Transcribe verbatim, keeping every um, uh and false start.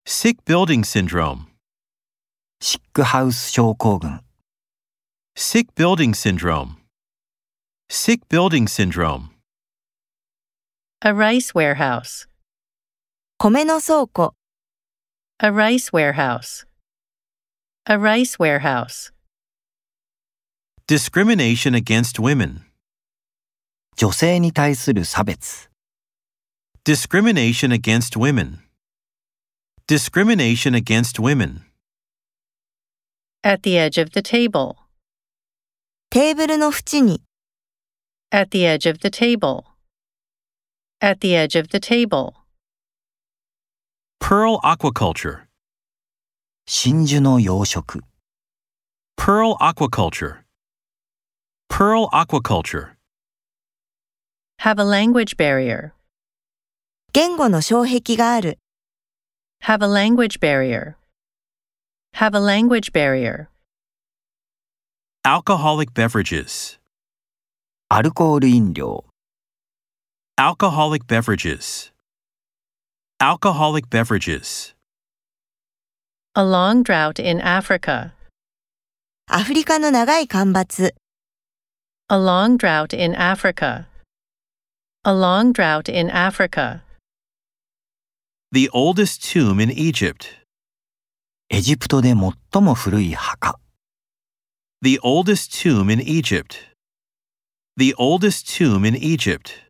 Sick building syndrome. シックハウス症候群。 Sick building syndrome. Sick building syndrome. A rice warehouse. 米の倉庫。 A rice warehouse. A rice warehouse. Discrimination against women. 女性に対する差別。 Discrimination against women. Discrimination against women. At the edge of the table. テーブルの縁に。 At the edge of the table. At the edge of the table. Pearl aquaculture. 真珠の養殖。 Pearl aquaculture. Pearl aquaculture. Have a language barrier. 言語の障壁がある。 Have a language barrier. Have a language barrier. Alcoholic beverages. アルコール飲料。 Alcoholic beverages. Alcoholic beverages. A long drought in Africa. アフリカの長い干ばつ。 A long drought in Africa. A long drought in Africa. The oldest tomb in Egypt. エジプトで最も古い墓。 The oldest tomb in Egypt. The oldest tomb in Egypt.